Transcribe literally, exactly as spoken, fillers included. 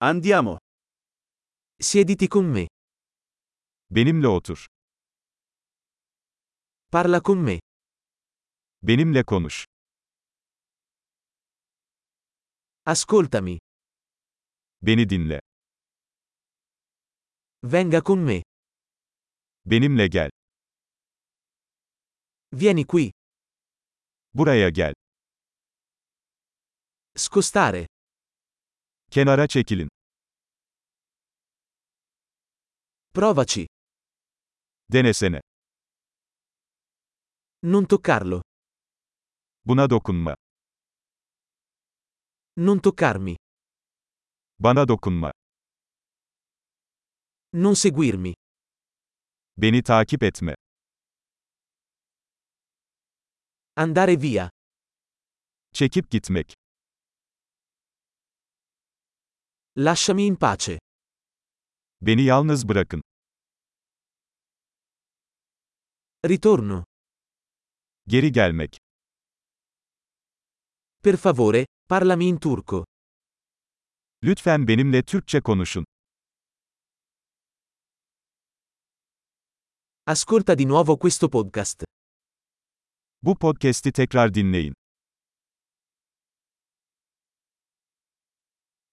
Andiamo. Siediti con me. Benimle otur. Parla con me. Benimle konuş. Ascoltami. Beni dinle. Venga con me. Benimle gel. Vieni qui. Buraya gel. Scostare. Kenara çekilin. Provaci. Denesene. Non toccarlo. Buna dokunma. Non toccarmi. Bana dokunma. Non seguirmi. Beni takip etme. Andare via. Çekip gitmek. Lasciami in pace. Beni yalnız bırakın. Ritorno. Geri gelmek. Per favore, parlami in turco. Lütfen benimle Türkçe konuşun. Ascolta di nuovo questo podcast. Bu podcast'i tekrar dinleyin.